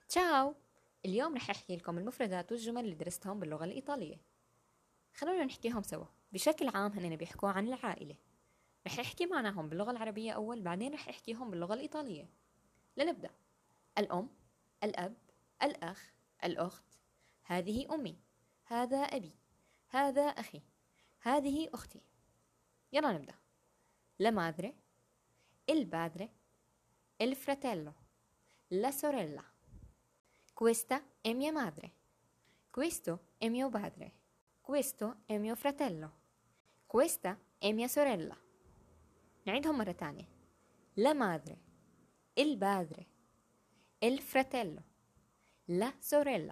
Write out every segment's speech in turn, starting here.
تشاو. اليوم رح أحكي لكم المفردات والجمل اللي درستهم باللغة الإيطالية. خلونا نحكيهم سوا. بشكل عام هنن بيحكوا عن العائلة. رح أحكي معناهم باللغة العربية أول، بعدين رح أحكيهم باللغة الإيطالية. لنبدأ. الأم، الأب، الأخ، الأخت. هذه أمي، هذا أبي، هذا أخي، هذه أختي. يلا نبدأ. La madre, il padre, il fratello, la sorella. Questa è mia madre. Questo è mio padre. Questo è mio fratello. Questa è mia sorella. نعيدهم مرة تانية. La madre, il padre, il fratello, la sorella.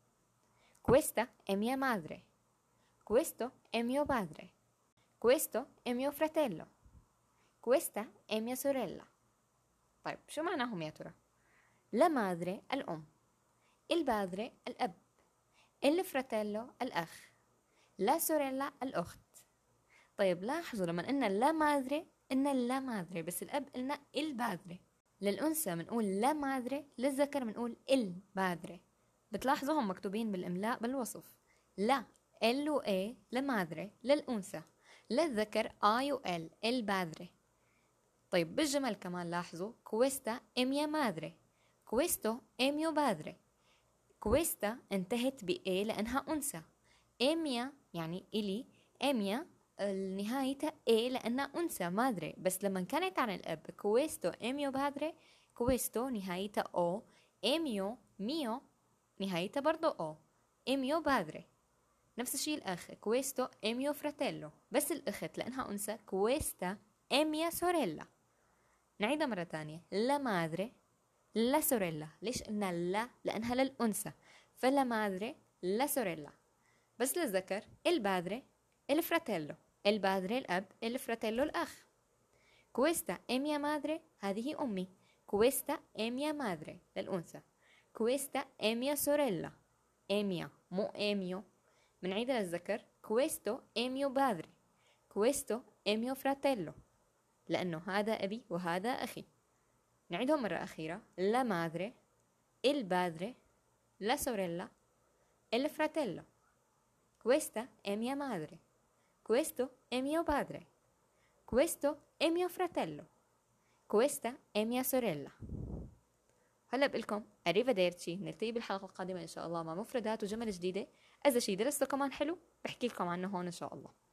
Questa è mia madre. Questo è mio padre. Questo è mio fratello. Questa è mia sorella. طيب شو معناهم يا ترى؟ La madre الأم، il padre الأب، il fratello الأخ، la sorella الأخت. طيب لاحظوا لما قلنا لا مادري قلنا لا مادري، بس الأب قلنا البادري. للأنثى بنقول لا مادري، للذكر بنقول البادري. بتلاحظوهم مكتوبين بالإملاء بالوصف. لا ال و اي لمادري للأنثى، للذكر اي و ال البادري. طيب بالجمل كمان لاحظوا كويستا اميا مادري، كويستو اميو بادري. كويستا انتهت بإيه لأنها أنثى. اميا يعني إلي، اميا نهايتها ايه لانها انثى مادري، بس لما كانت عن الاب كويستو اميو بادري، كويستو نهايتها او، اميو ميو نهايتها برضو او، اميو بادري. نفس الشيء الاخ كويستو اميو فراتيلو، بس الاخت لانها انثى كويستا اميا سوريلا. نعيدها مرة تانية. لا مادري لا سوريلا. ليش قلنا لا؟ لانها للانثى، فلا مادري لا سوريلا. بس للذكر البادري الفراتيلو، البادري الأب، الفراتيلو الأخ. كويستا إميا مادري هذه أمي، كويستا إميا مادري للأنثى، كويستا إميا سوريلا، إميا مو إميو. بنعيدها للذكر كويستو إميو بادري، كويستو إميو فراتيلو، لأنه هذا أبي وهذا أخي. نعيدهم مرة أخيرة. لا مادري، البادري، لا سوريلا، الفراتيلو. Questa è mia madre. Questo è mio padre. Questo è mio fratello. Questa è mia sorella. هلا بقلكم arrivederci. نلتقي بالحلقة القادمة إن شاء الله مع مفردات وجمل جديدة. إذا شي درسته كمان حلو بحكي لكم عنه هون إن شاء الله.